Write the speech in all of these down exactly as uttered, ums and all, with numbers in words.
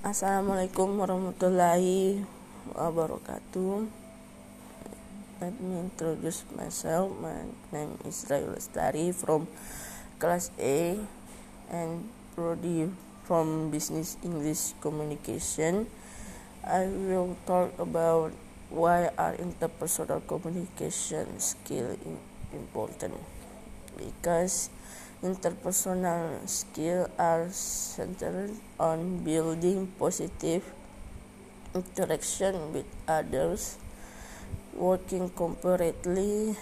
Assalamualaikum warahmatullahi wabarakatuh. Let me introduce myself. My name is Rayu Lestari from class A and Prodi from Business English Communication. I will talk about why are interpersonal communication skill important. Because interpersonal skills are centered on building positive interaction with others, working cooperatively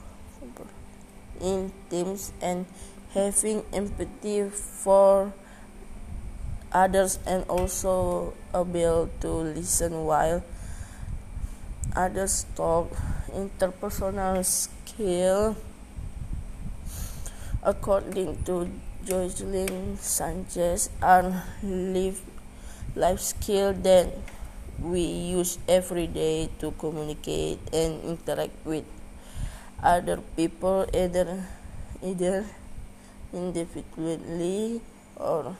in teams, and having empathy for others, and also able to listen while others talk. Interpersonal skill, according to Jocelyn Sanchez, are life, life skills that we use every day to communicate and interact with other people, either either individually or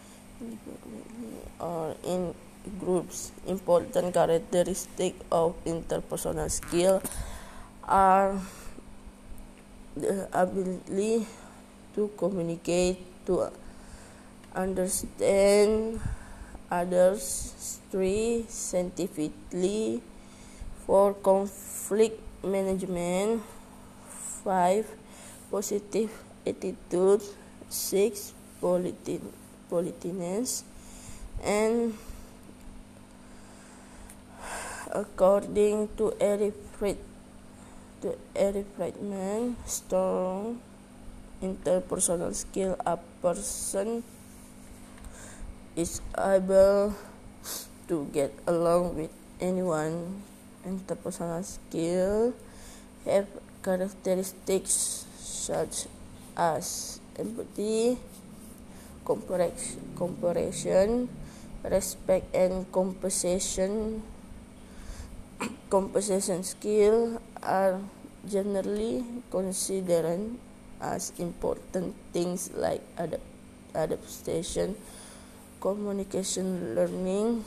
or in groups. Important characteristics of interpersonal skill are the ability to communicate, to understand others, three scientifically, four conflict management, five positive attitude, six polite, politeness, and according to Eric Fried, to Eric Friedman, strong interpersonal skill, a person is able to get along with anyone. Interpersonal skill have characteristics such as empathy, cooperation, respect, and compensation. Compensation skills are generally considered as important things like adapt, adaptation, communication, learning,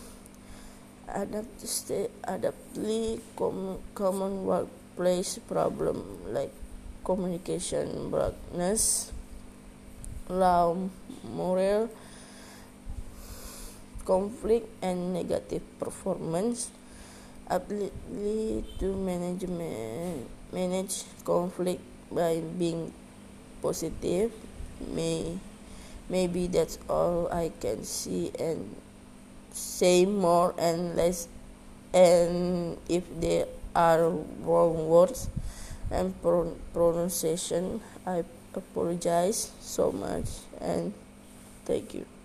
adaptability, com, common workplace problem like communication blackness, low morale, conflict, and negative performance. Ability to manage manage conflict by being positive. May maybe that's all I can see and say. More and less, and if there are wrong words and pro- pronunciation, I apologize so much and thank you.